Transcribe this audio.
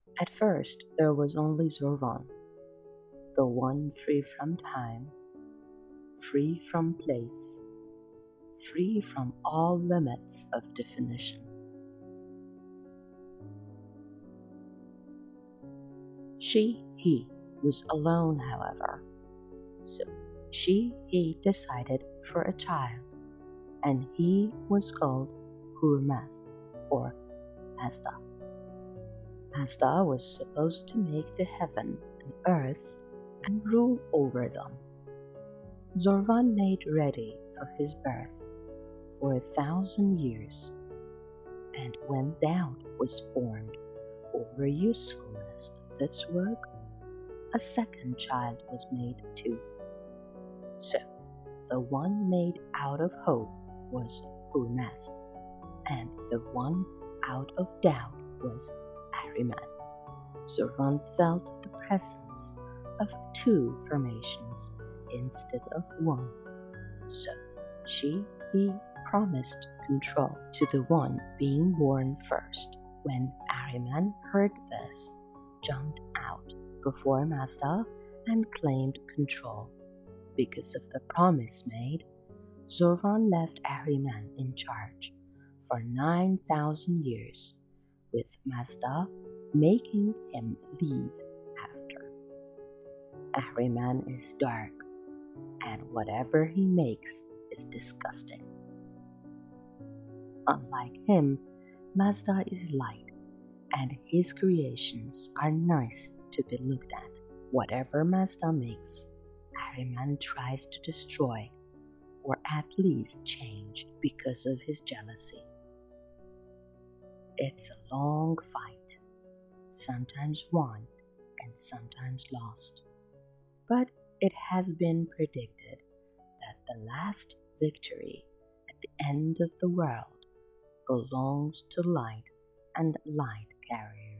At first, there was only Zorvan, the one free from time, free from place, free from all limits of definition. He was alone, however, so he decided for a child, and he was called Hurmazd, or Mazda. Mazda was supposed to make the heaven and earth and rule over them. Zorvan made ready for his birth for 1,000 years, and when doubt was formed over usefulness of this work, a second child was made too. So the one made out of hope was Hurmazd, and the one out of doubt was Ahriman. Zorvan felt the presence of two formations instead of one. So he promised control to the one being born first. When Ahriman heard this, jumped out before Mazda and claimed control. Because of the promise made, Zorvan left Ahriman in charge for 9,000 years, with Mazda making him leave after. Ahriman is dark, and whatever he makes is disgusting. Unlike him, Mazda is light, and his creations are nice to be looked at. Whatever Mazda makes, Ahriman tries to destroy or at least change because of his jealousy. It's a long fight, sometimes won and sometimes lost. But it has been predicted that the last victory at the end of the world belongs to light and light carriers.